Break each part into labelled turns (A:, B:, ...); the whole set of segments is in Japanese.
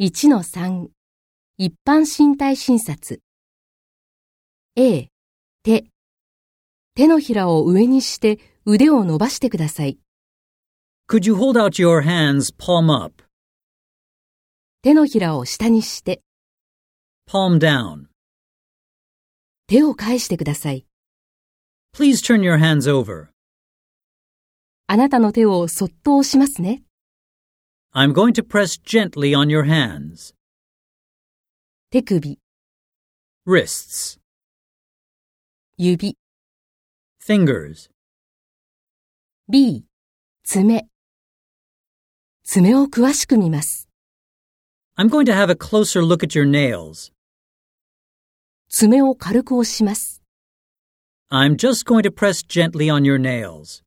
A: 1-3 一般身体診察 A、手のひらを上にして腕を伸ばしてください。
B: Could you hold out your hands palm up?
A: 手のひらを下にして
B: Palm down.
A: 手を返してください。
B: Please turn your hands over.
A: あなたの手をそっと押しますね。
B: I'm going to press gently on your hands.
A: 手首、
B: Wrists.
A: 指、
B: Fingers.
A: B、爪。爪を詳しく見ます。
B: I'm going to have a closer look at your nails.
A: 爪を軽く押します。
B: I'm just going to press gently on your nails.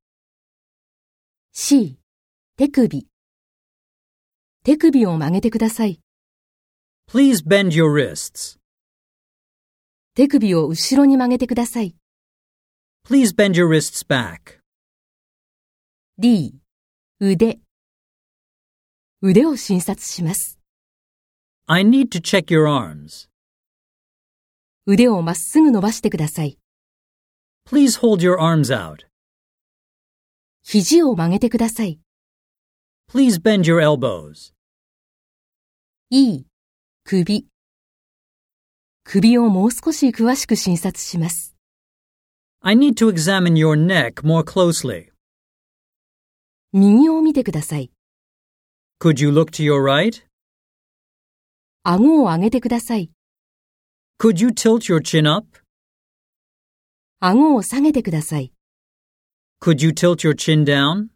A: C、手首。手首を曲げてください。
B: Please bend your wrists.
A: 手首を後ろに曲げてください。
B: Please bend your wrists back.
A: D、腕。腕を診察します。
B: I need to check your arms.
A: 腕をまっすぐ伸ばしてください。
B: Please hold your arms out.
A: 肘を曲げてください。
B: Please bend your elbows.
A: E、首。首をもう少し詳しく診察します。
B: I need to examine your neck more closely.
A: 右を見てください。
B: Could you look to your right?
A: 顎を上げてください。
B: Could you tilt your chin up?
A: 顎を下げてください。
B: Could you tilt your chin down?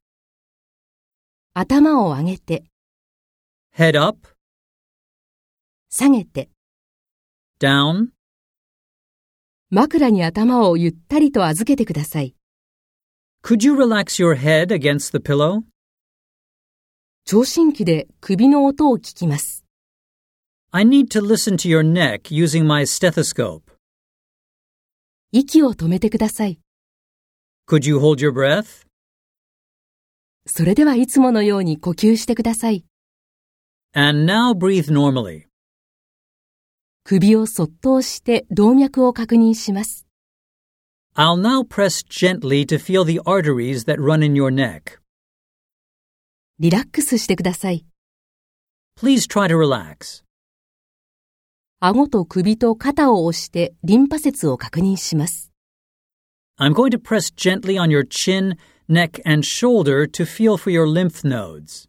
A: 頭を上げて、
B: Head up,
A: 下げて、
B: down.
A: 枕に頭をゆったりと預けてください。
B: Could you relax your head against the pillow?
A: 聴診器で首の音を聞きます。
B: I need to listen to your neck using my stethoscope.
A: 息を止めてください。
B: Could you hold your breath?
A: それではいつものように呼吸してください。
B: And now breathe normally.
A: 首をそっと押して動脈を確認します。
B: I'll now press gently to feel the arteries that run in your neck.
A: リラックスしてください。
B: Please try to relax.
A: 顎と首と肩を押してリンパ節を確認します。
B: I'm going to press gently on your chin, neck, and shoulder to feel for your lymph nodes.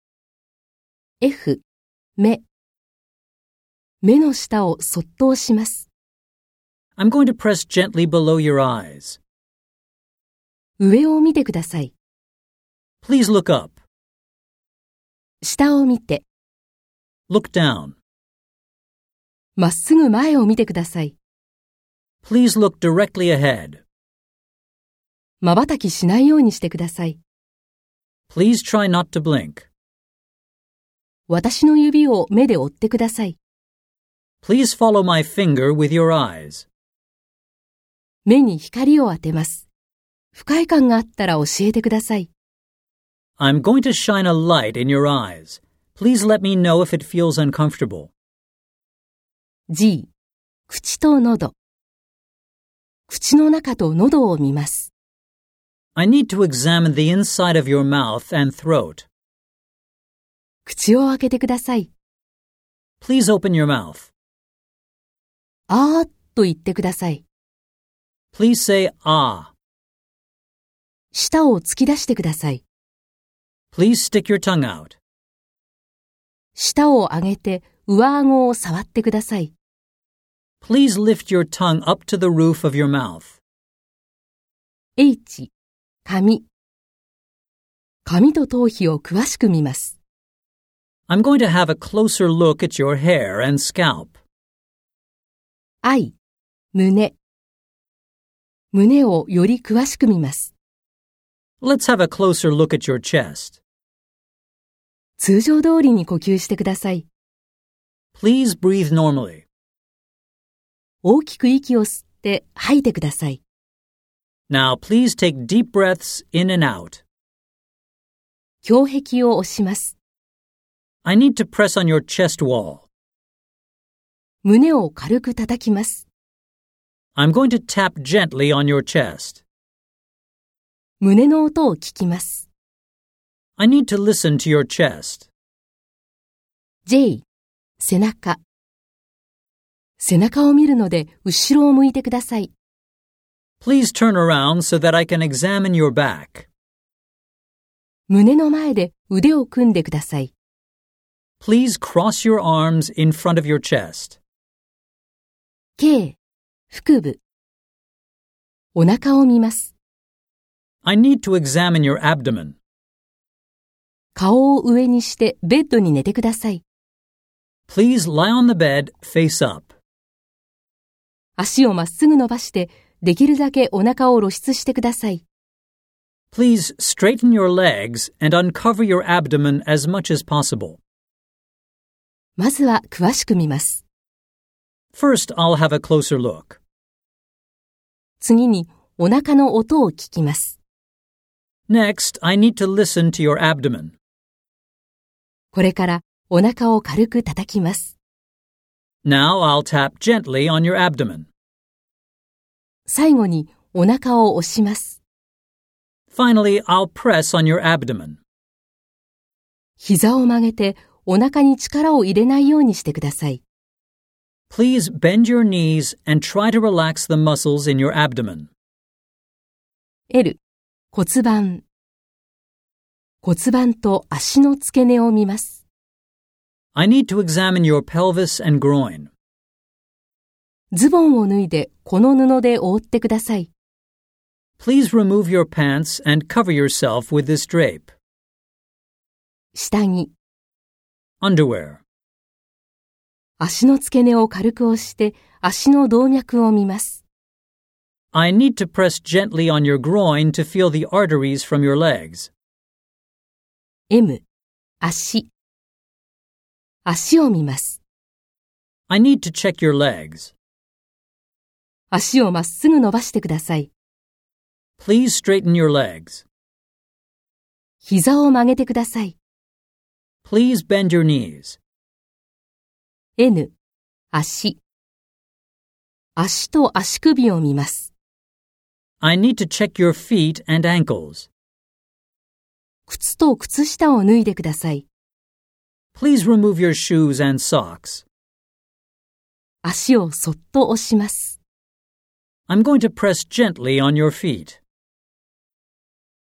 A: F、目。目の下をそっと押します。
B: I'm going to press gently below your eyes.
A: 上を見てください。
B: Please look up.
A: 下を見て、
B: Look down.
A: まっすぐ前を見てください。
B: Please look directly ahead.
A: 瞬きしないようにしてください。
B: Please try not to blink.
A: 私の指を目で追ってください。
B: Please follow my finger with your eyes.
A: 目に光を当てます。不快感があったら教えてください。
B: I'm going to shine a light in your eyes. Please let me know if it feels uncomfortable.
A: G、口と喉。口の中と喉を見ます。
B: I need to examine the inside of your mouth and throat.
A: 口を開けてください。
B: Please open your mouth.
A: あーっと言ってください。
B: Please say ah.
A: 舌を突き出してください。
B: Please stick your tongue out.
A: 舌を上げて上顎を触ってください。
B: Please lift your tongue up to the roof of your mouth.
A: H、髪。髪と頭皮を詳しく見ます。
B: I'm going to have a closer look at your hair and scalp.
A: I、胸。胸をより詳しく見ます。
B: Let's have a closer look at your chest.
A: 通常通りに呼吸してください。
B: Please breathe normally.
A: 大きく息を吸って吐いてください。
B: Now please take deep breaths in and out.
A: 胸壁を押します。
B: I need to press on your chest wall.
A: 胸を軽く叩きます。
B: I'm going to tap gently on your chest.
A: 胸の音を聞きます。
B: I need to listen to your chest.
A: J、背中。背中を見るので後ろを向いてください。
B: Please turn around so that I can examine your back.
A: 胸の前で腕を組んでください。
B: Please cross your arms in front of your chest.
A: K、腹部。お腹を見ます。
B: I need to examine your abdomen.
A: 顔を上にしてベッドに寝てください。
B: Please lie on the bed, face up.
A: 足をまっすぐ伸ばして、できるだけお腹を露出してください。
B: Please straighten your legs and uncover your abdomen as much as possible.
A: まずは詳しく見ます。
B: First, I'll have a closer look.
A: 次にお腹の音を聞きます。
B: Next, I need to listen to your abdomen.
A: これからお腹を軽く叩きます。
B: Now I'll tap gently on your abdomen.
A: 最後にお腹を押します。
B: Finally, I'll press on your abdomen.
A: 膝を曲げてお腹に力を入れないようにしてください。
B: Please bend your knees and try to relax the muscles in your abdomen.
A: L、骨盤。骨盤と足の付け根を見ます。
B: I need to examine your pelvis and groin.
A: ズボンを脱いでこの布で覆ってください。
B: Please remove your pants and cover yourself with this drape.
A: 下着。
B: Underwear.
A: 足の付け根を軽く押して足の動脈を見ます。
B: I need to press gently on your groin to feel the arteries from your legs.
A: M、足。足を見ます。
B: I need to check your legs.
A: 足をまっすぐ伸ばしてください。
B: Please straighten your legs.
A: 膝を曲げてください。
B: Please bend your knees.
A: N、足。足と足首を見ます。
B: I need to check your feet and ankles.
A: 靴と靴下を脱いでください。
B: Please remove your shoes and socks.
A: 足をそっと押します。
B: I'm going to press gently on your feet.